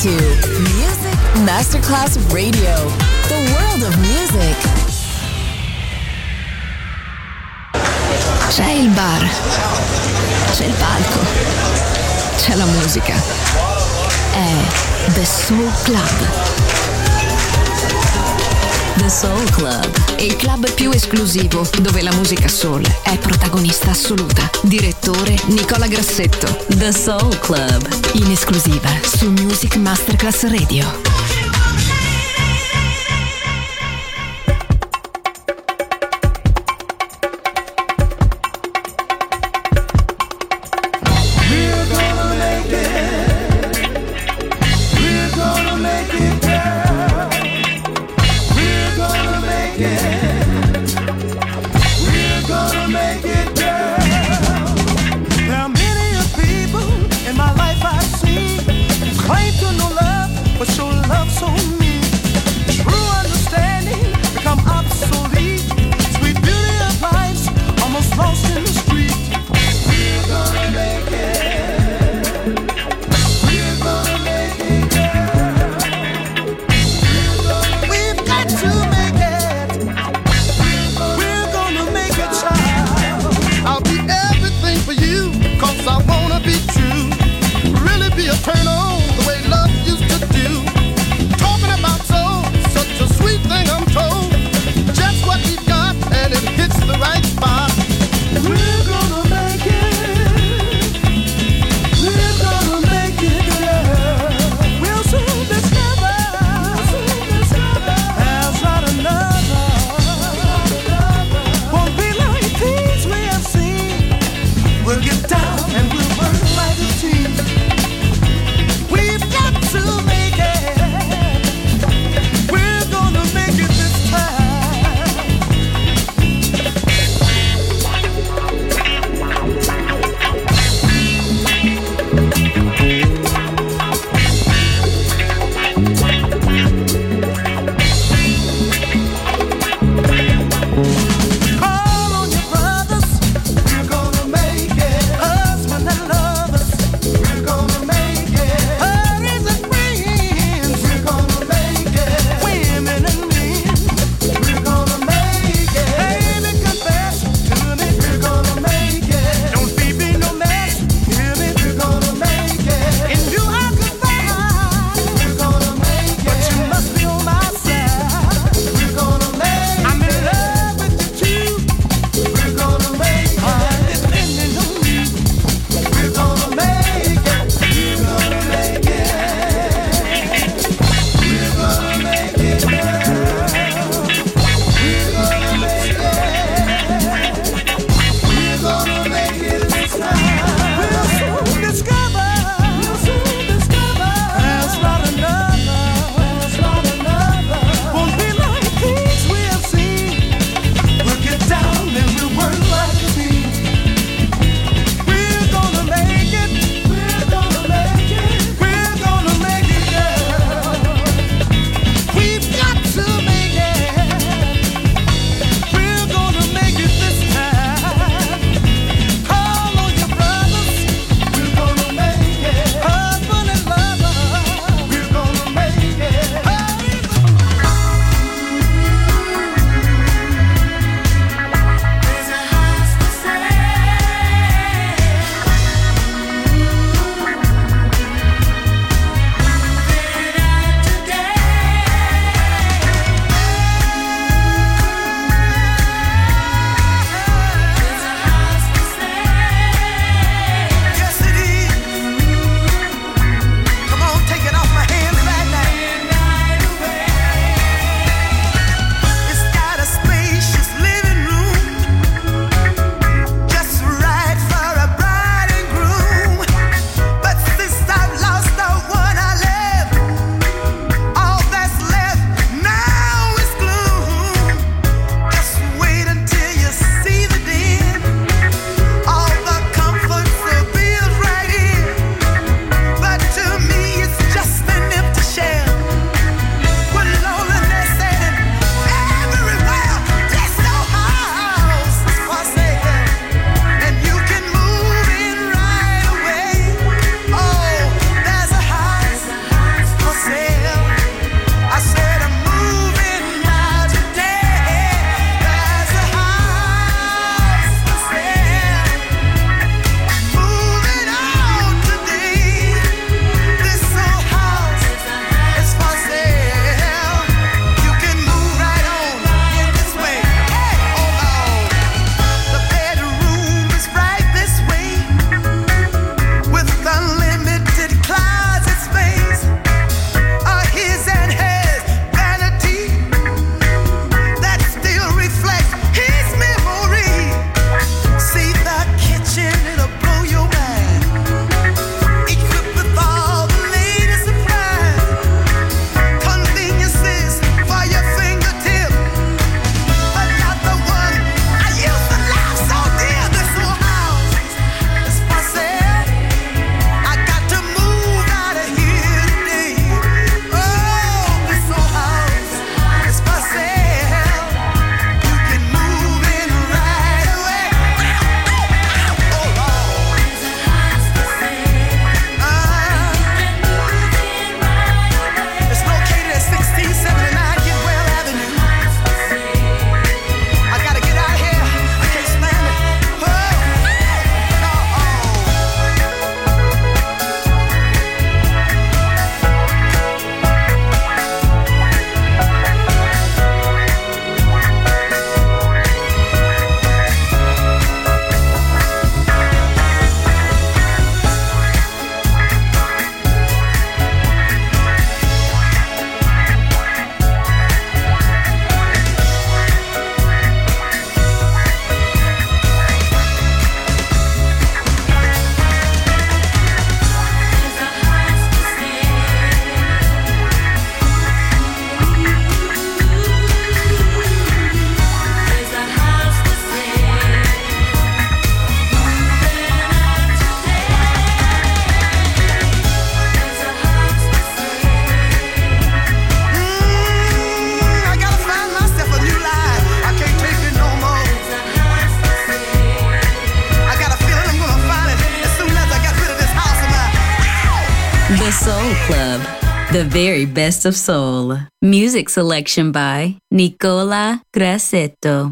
to Music Masterclass Radio, the world of music. C'è il bar, c'è il palco, c'è la musica. È The Soul Club. The Soul Club, Il club più esclusivo dove la musica soul è protagonista assoluta. Direttore Nicola Grassetto. The Soul Club, In esclusiva su Music Masterclass Radio. Claim to know love, but show love. The Soul Club, the very best of soul. Music selection by Nicola Grassetto.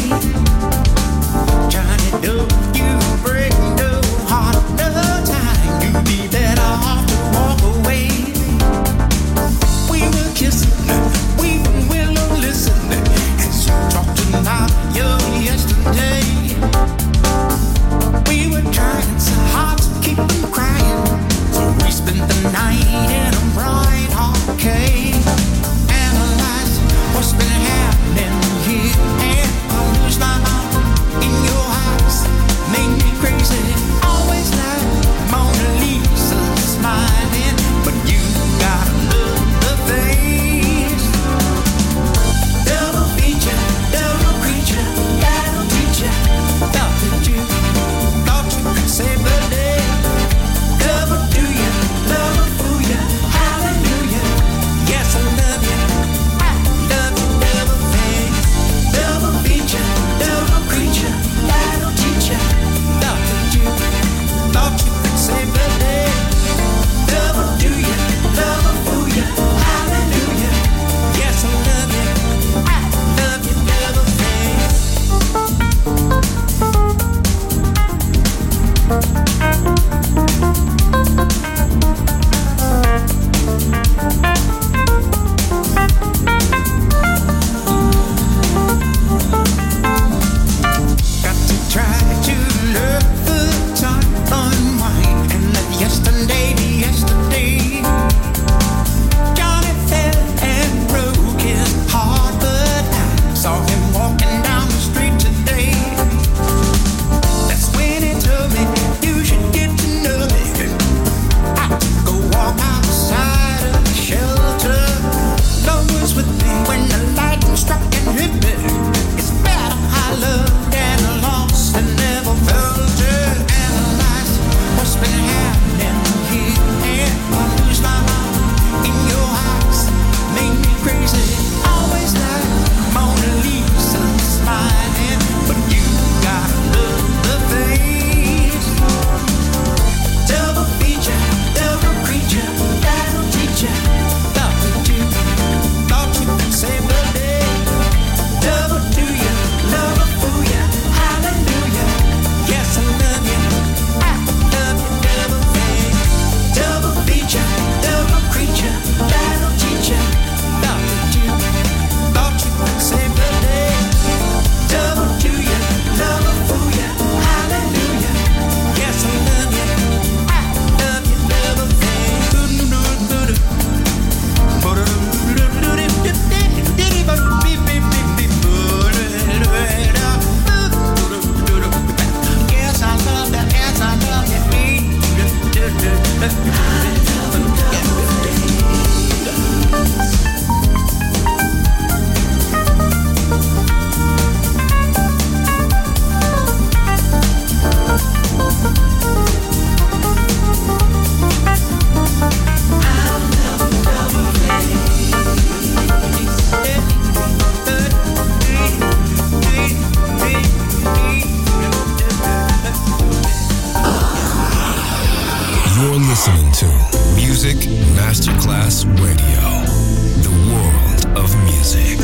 listening to Music Masterclass Radio, the world of music.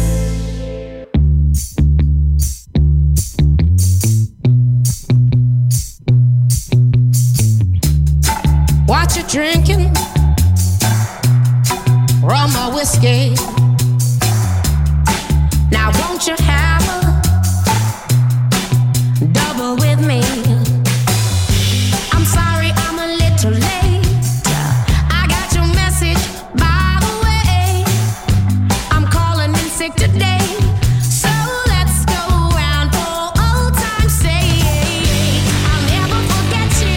What you drinking? Rum or whiskey? Now won't you have a double with me? I'm sorry I'm a little late. I got your message, by the way. I'm calling in sick today. So let's go round for old time's sake. I'll never forget you.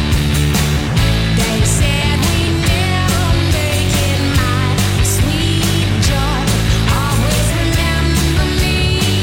They said we never make it, my sweet joy. Always remember me.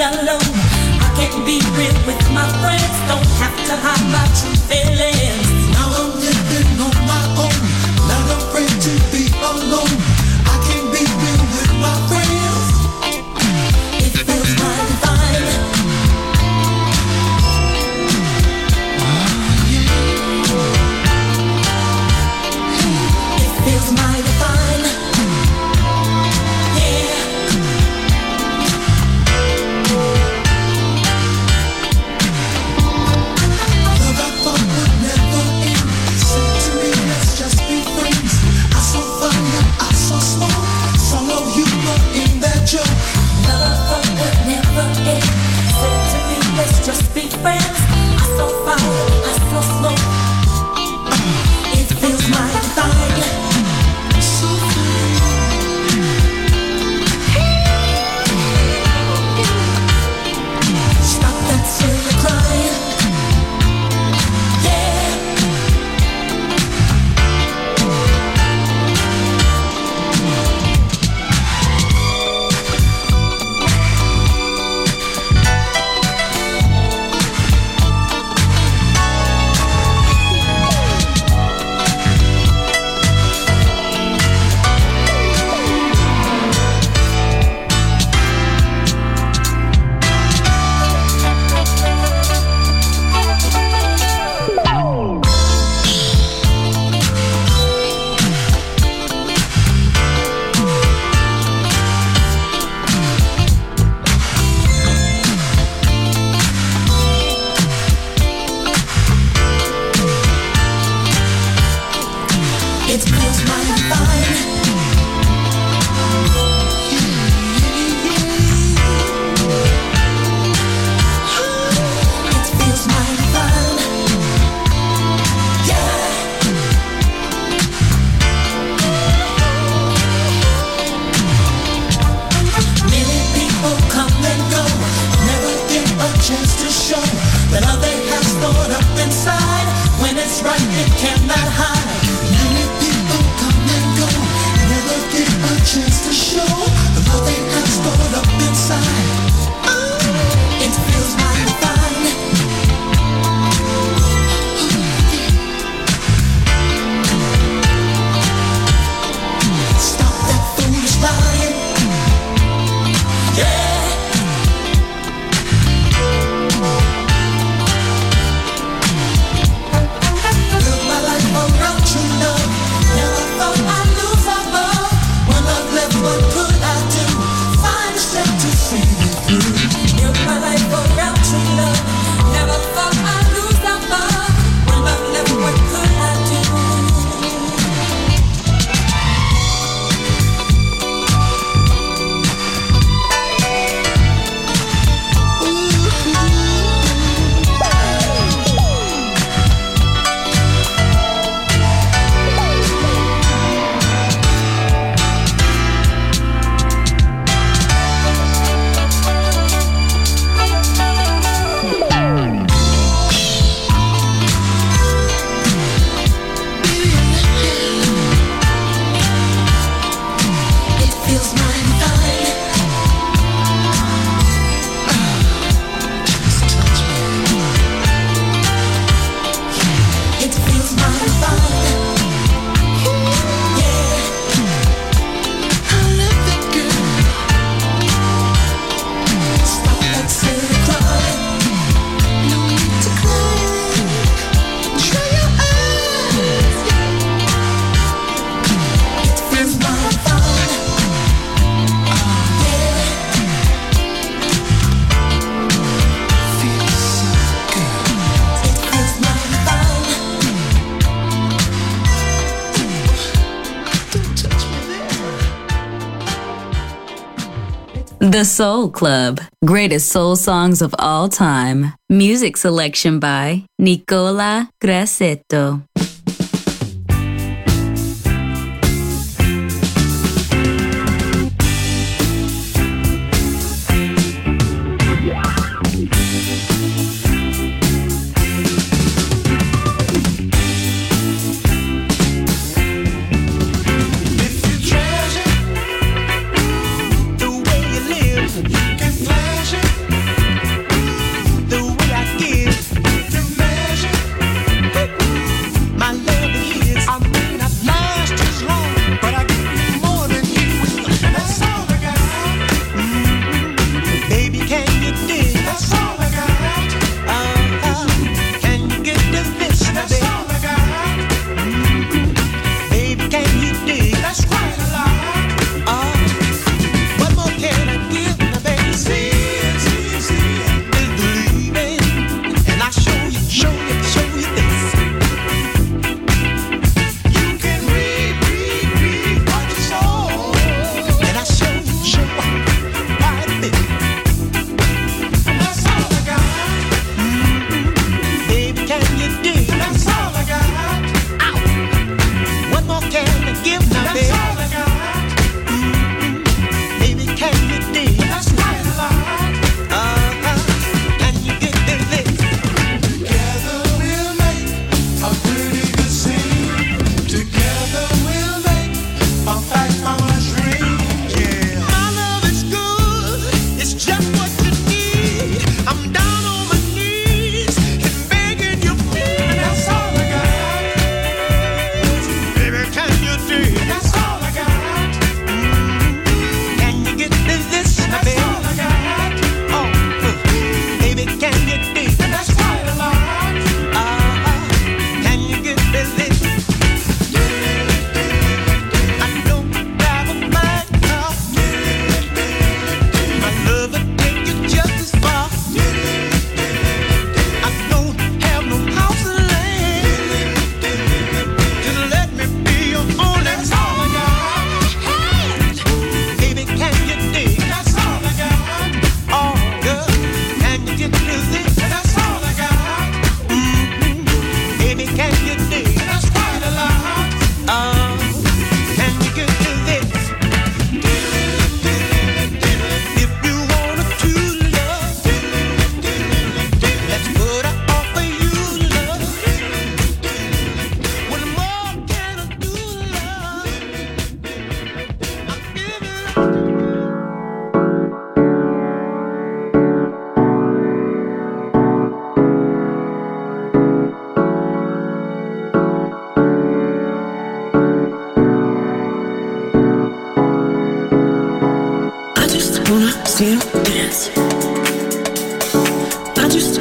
alone. I can't be real with my friends. Don't have to hide my true feelings. Now I'm living on my own, not afraid to be alone. I can't be real with my friends. It feels mighty fine. It feels mighty fine. Yeah. Love I thought would never end. Said to me, let's just be friends. I saw fire, I saw smoke, saw no humor in that joke. Love I thought would never end. Said to me, let's just be friends. I saw fire, I saw smoke. It feels mighty fine. So Stop that silly crying. Yeah. It feels mighty fine. It feels mighty fine. Yeah. Many people come and go, never get a chance to show that all they have stored up inside. When it's right, it cannot hide. many people come and go, never get a chance to show the love they have stored up inside. It feels mighty fine. Stop that foolish lying. Yeah. Live my life around true love. Never thought I'd lose my love. When I've left, what could I do? Find a strength to see it through. Live my life around true love. Never thought I'd lose my love. When I've left, what could I do? It feels mighty fine. It feels mighty fine. Yeah. I love it, girl. Stop that silly crying. No need to cry. Dry your eyes. It feels mighty fine. Yeah. Feels so good. It feels mighty fine. Don't touch me there. The Soul Club. Greatest soul songs of all time. Music selection by Nicola Grassetto. If you treasure the way you live, you can pleasure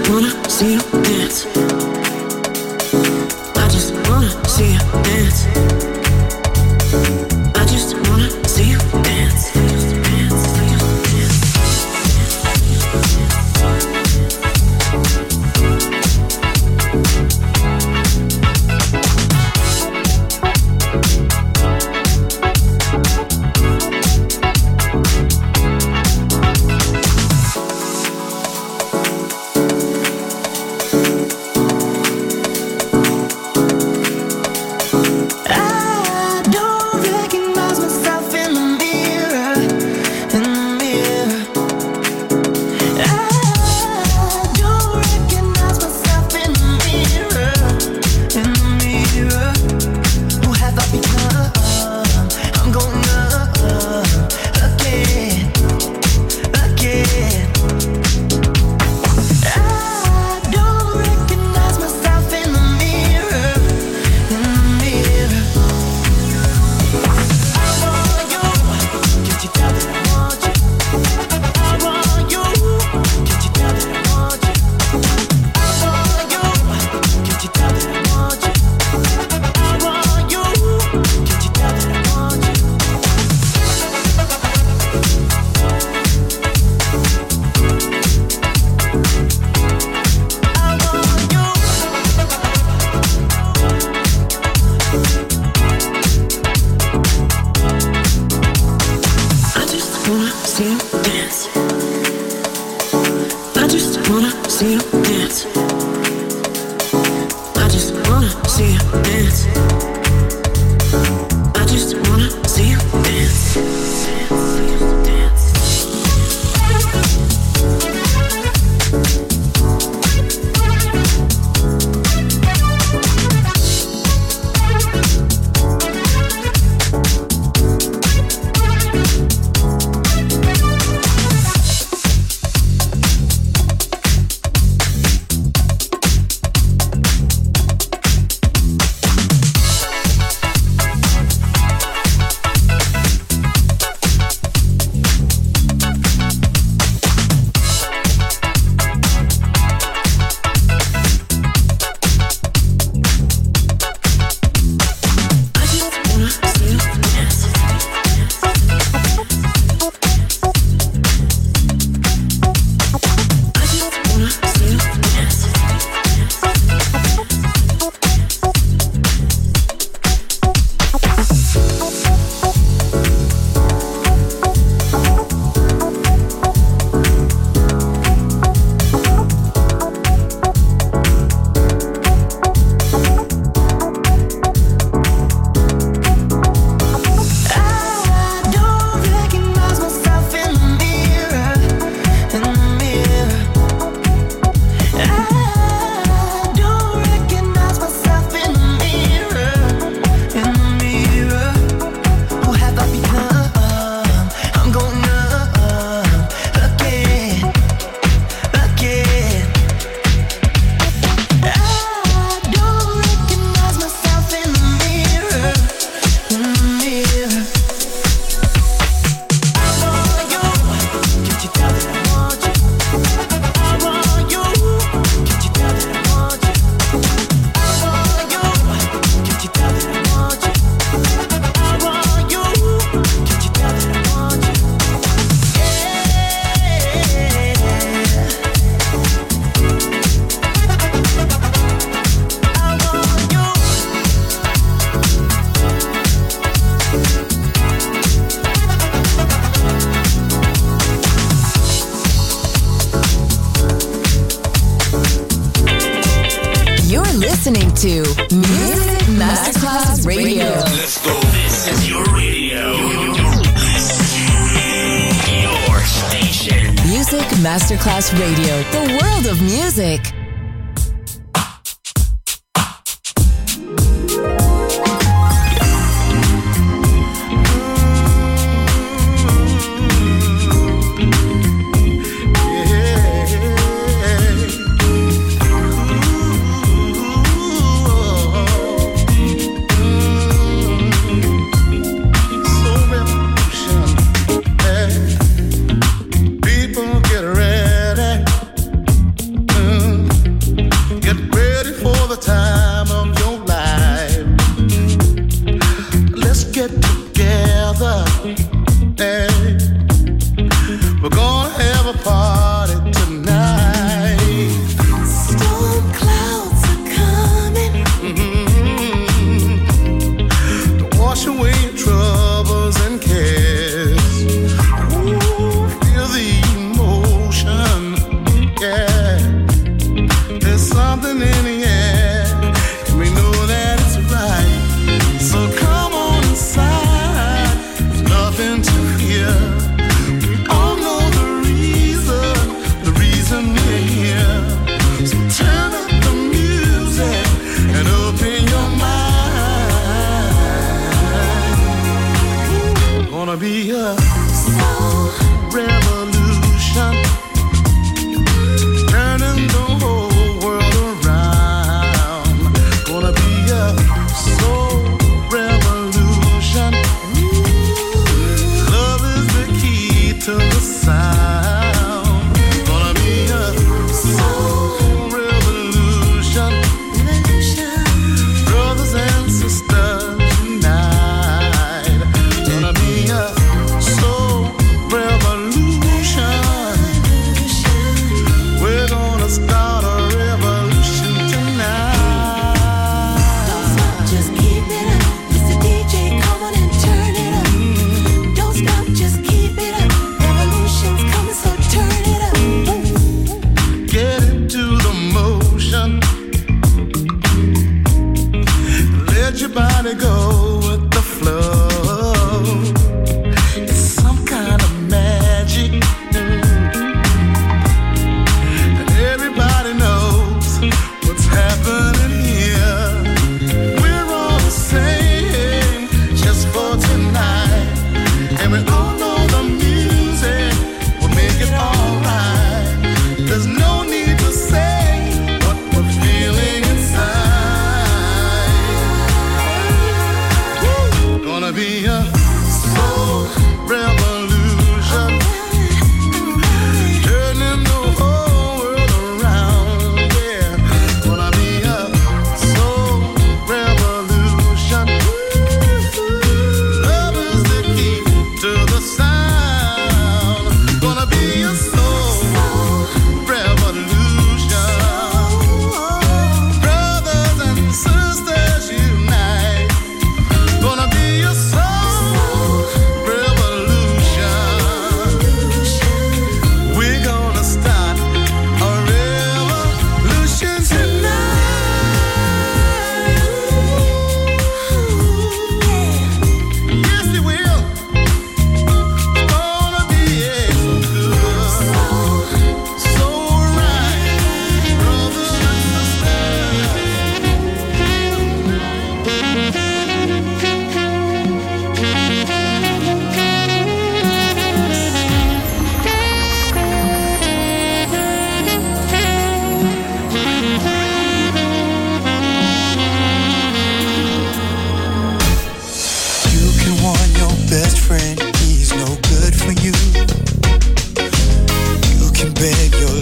wanna see you dance. I just wanna see you dance. I just wanna see you dance. listening to Music Masterclass Radio. Let's go. This is your radio. Your station. Music Masterclass Radio. The world of music. People get ready.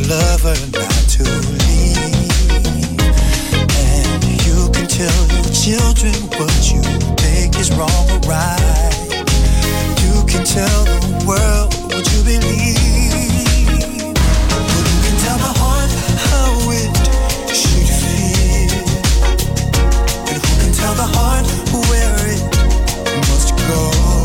lover not to leave. And you can tell your children what you think is wrong or right. You can tell the world what you believe. But you can tell the heart how it should feel. And who can tell the heart where it must go?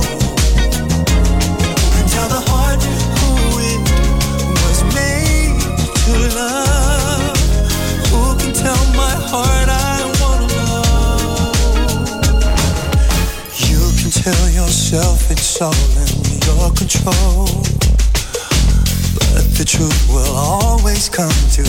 Who can tell the heart who it was made to love? Who can tell my heart I wanna know? You can tell yourself it's all in your control, but the truth will always come to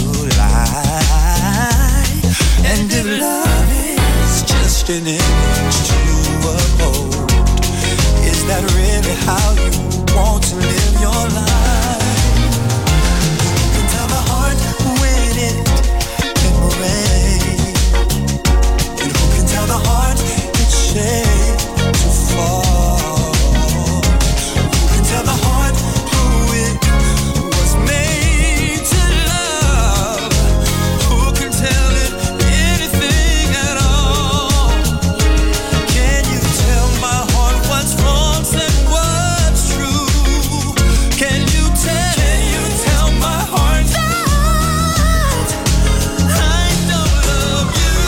light. And if love is just an image to uphold, is that really how you want to live your life? You can tell the heart when it can break, and who can tell the heart it's shaped to fall? Who can tell the heart who it was made to love? Who can tell it anything at all? Can you tell my heart what's wrong and what's true? Can you tell my heart that I don't love you?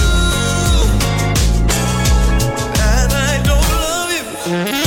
And I don't love you.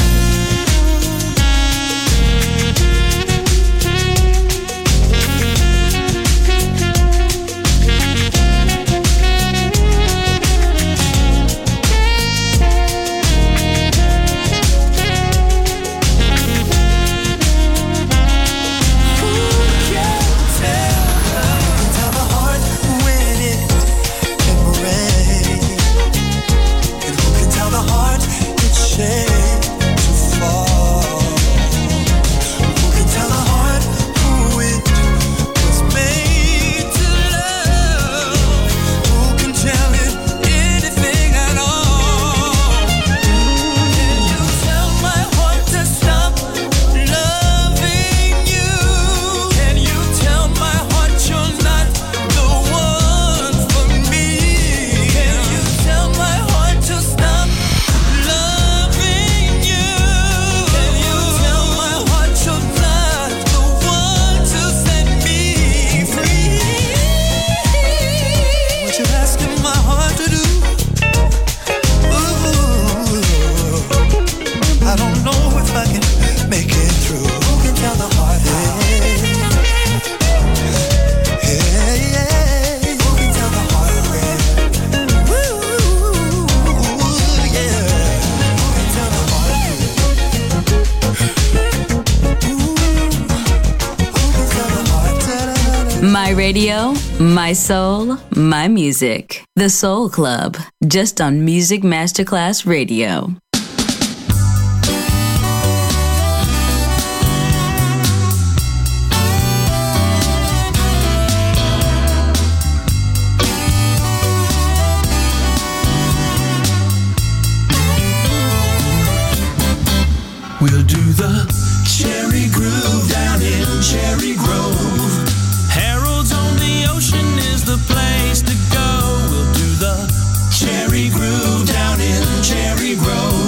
Tell the heart when it can break, and who can tell the heart it's shaped to fall? Who can tell the heart who it was made to love? Who can tell it anything at all? Can you tell my heart to stop loving you? Can you tell my heart you're not the one for me? Can you tell my heart to stop loving you? Can you tell my heart you're not the one to set me free? What you asking my heart to do? Ooh, I don't know if I can make it through. Who can tell the heart how? Hey, yeah. Who can tell the heart when? Ooh, yeah. Who can tell the heart when? Ooh, who can tell the heart? Da-da-da-da. My radio, my soul, my music. The Soul Club, just on Music Masterclass Radio. We'll do the Cherry Groove down in Cherry Grove. Harold's on the Ocean is the place to go. We'll do the Cherry Groove down in Cherry Grove.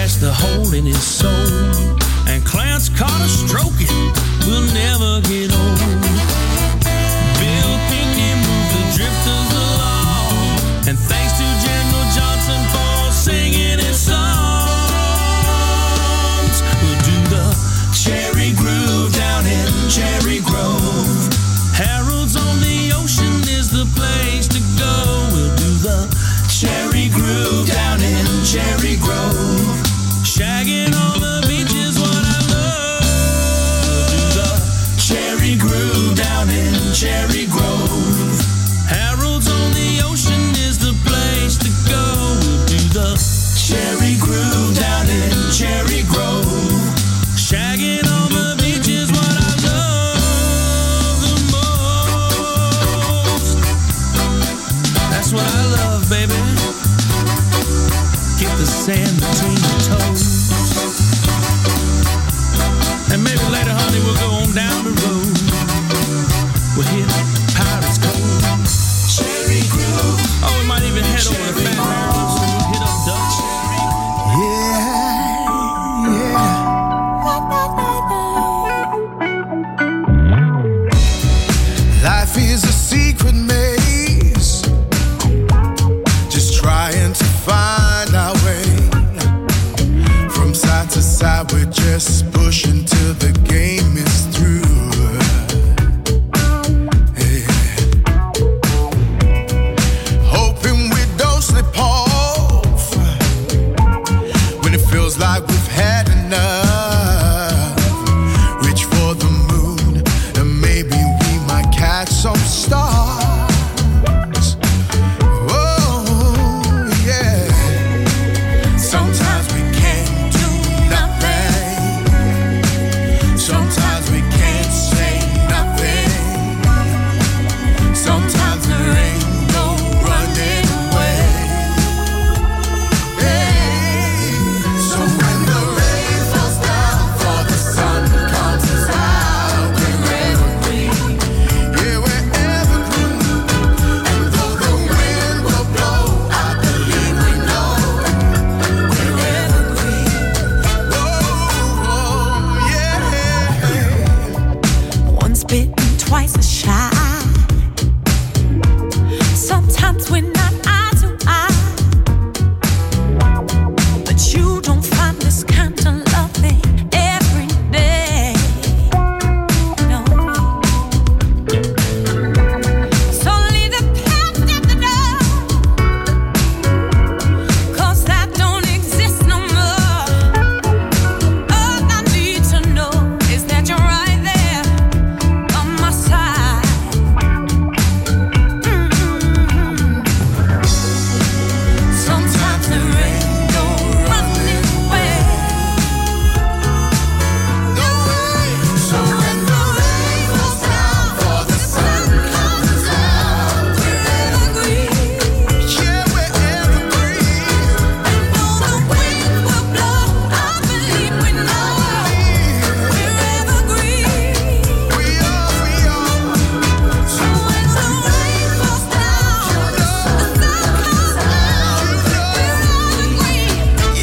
scratched the hole in his soul, and Clarence Carter stroking will never get old. Bill Pinkney moved the drifters along, and thanks to General Johnson for singing his songs. We'll do the Cherry Groove down in Cherry Grove. Harold's on the Ocean is the place to go. We'll do the Cherry Groove down in Cherry Grove. Shagging on the beach is what I love. We'll do the Cherry Groove down in Cherry Grove. Harold's on the Ocean is the place to go. We'll do the Cherry Groove down in Cherry Grove. Shagging on the beach is what I love the most. That's what I love, baby. Get the sand between your toes. And maybe later, honey, we'll go on down the road. We'll hit Pirates Cove, Cherry Grove. Oh, we might even head over to Fat Barrels. We'll hit up Dutch. Life is a secret maze, just trying to find our way. From side to side, we're just pushing till the game is through. Yeah. Hoping we don't slip off when it feels like we've had enough. Reach for the moon and maybe we might catch some stars. Oh, yeah. Sometimes we can't do nothing. Sometimes we can't say nothing. Sometimes there ain't no running away. Hey. So when the rain falls down for the sun comes out, we're evergreen. Yeah, we're evergreen. And though the wind will blow, I believe we know we're evergreen. Oh, yeah. Once bitten, twice as shy. Sometimes we're not eye to eye, but you don't find this kind of loving every day. No. So leave the past at the door, 'cause that don't exist no more. All I need to know is that you're right there on my side. Sometimes there ain't no running away. No way. So when the rain falls down for the sun comes out, We're evergreen. yeah, we're evergreen. Though the wind will blow, I believe we know we're evergreen. We are. So when the rain falls down, the sun comes out, we're evergreen.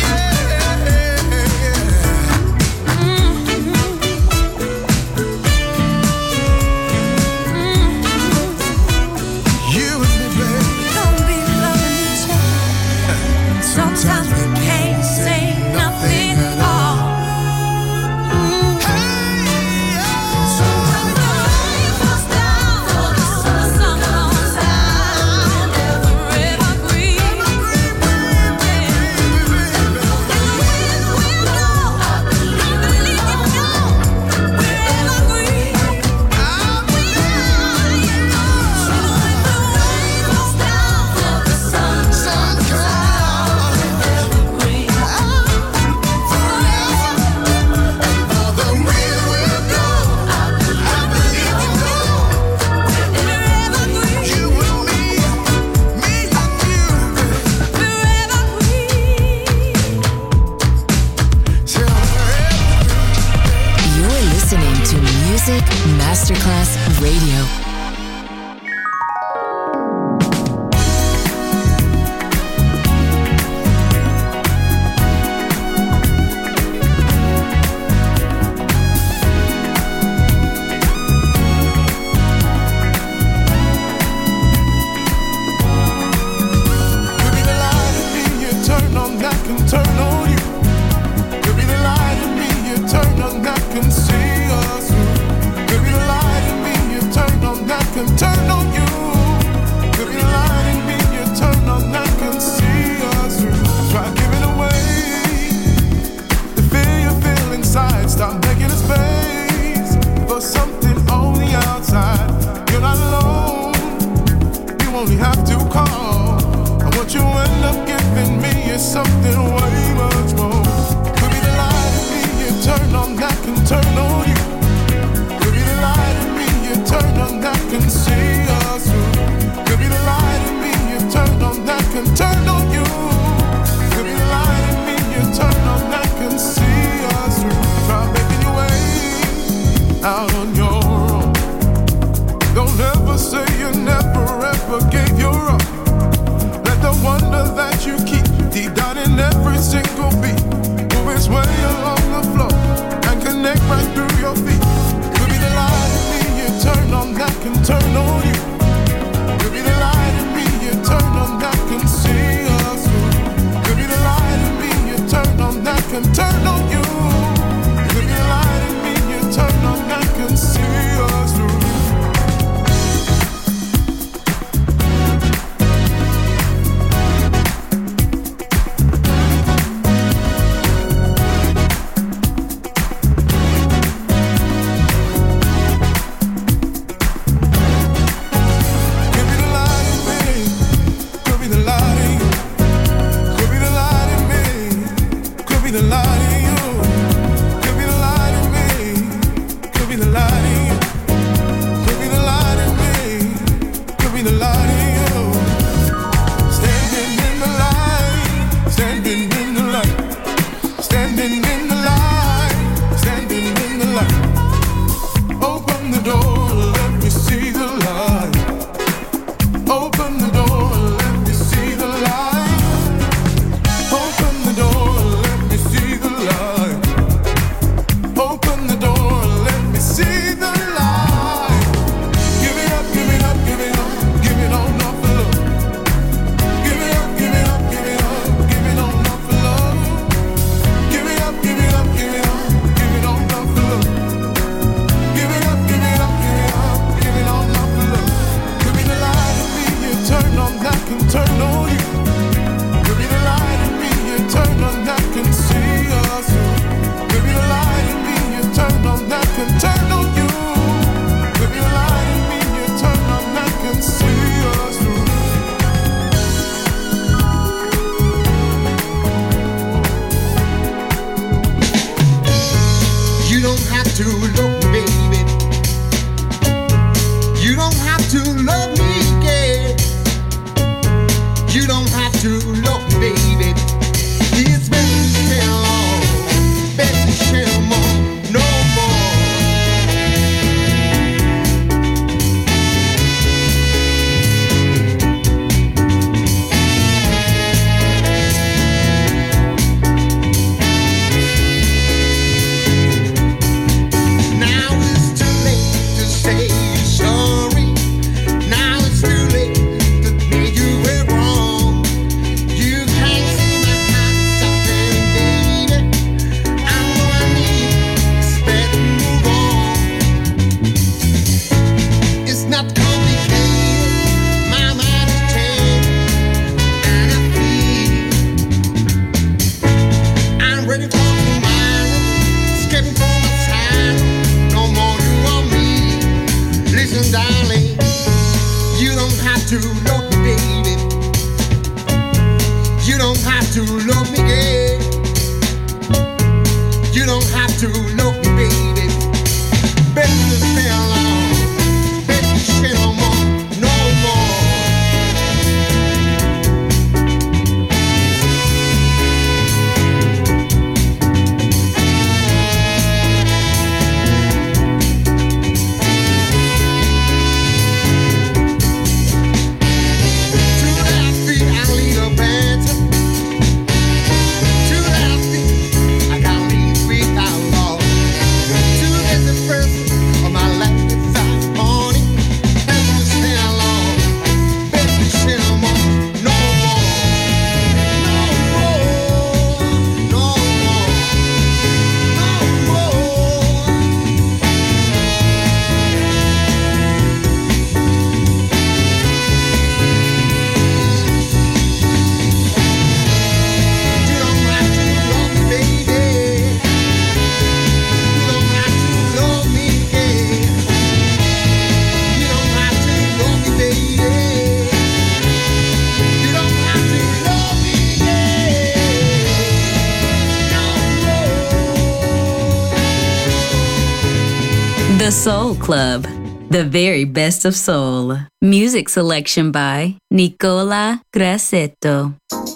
You and me, baby. Don't be loving each other. Sometimes we can't say nothing at all. So when the rain falls down, the sun comes out, we're evergreen. And the wind will blow, I believe we know we're evergreen. So when the rain falls down, the sun comes out, evergreen. Though the wind will blow, I believe we know. We're evergreen. You and me and you. We're evergreen. Till we're You're listening to Music Masterclass Radio. only have to call. And what you end up giving me is something way much more. Could be the light in me you turn on that can turn on you. Could be the light in me you turn on that can see us through. Could be the light in me you turn on that can turn on you. Could be the light in me you turn on that can see us through. Try making your way out on your own. Don't ever say you never ever gave your all. Let the wonder that you keep deep down in every single beat move its way along the floor and connect right through your feet. Could be the light in me you turn on that can turn on you. Could be the light in me you turn on that can see us through. Could be the light in me you turn on that can turn on you. Could be the light in me you turn on that can see us through. My life The Soul Club, the very best of soul. Music selection by Nicola Grassetto.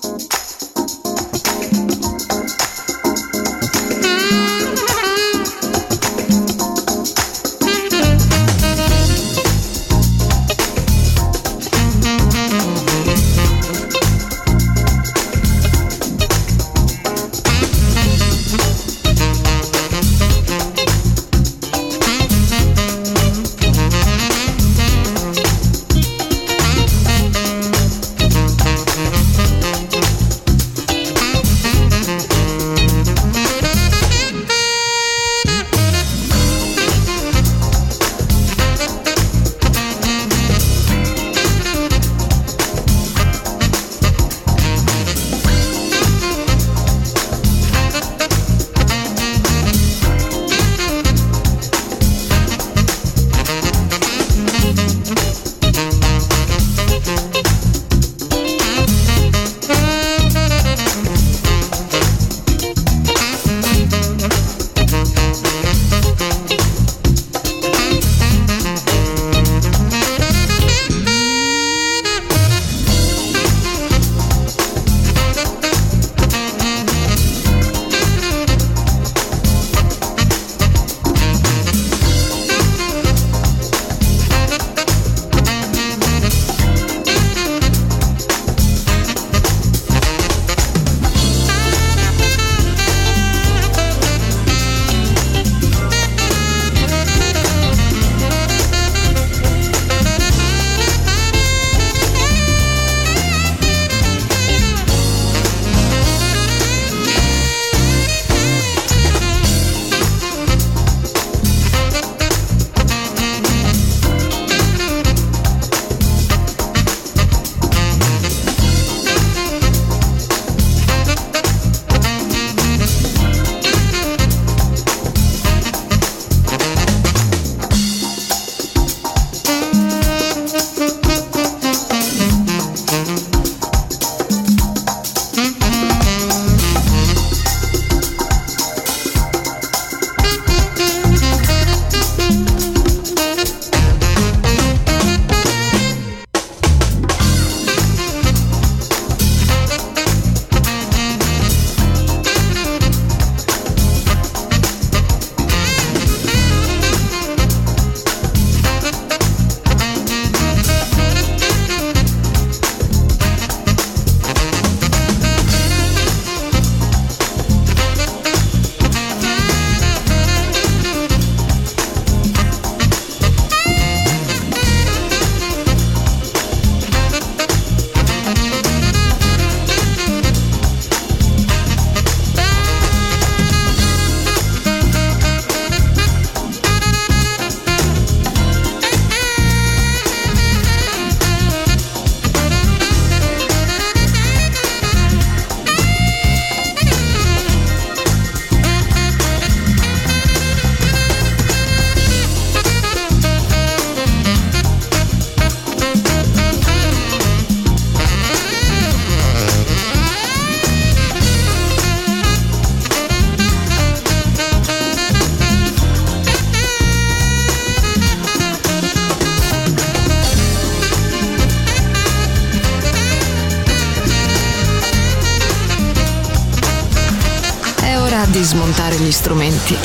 Di smontare gli strumenti,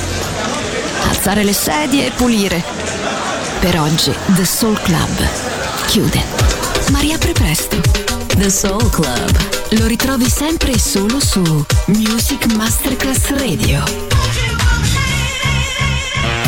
alzare le sedie e pulire. Per oggi The Soul Club chiude, ma riapre presto. The Soul Club lo ritrovi sempre e solo su Music Masterclass Radio.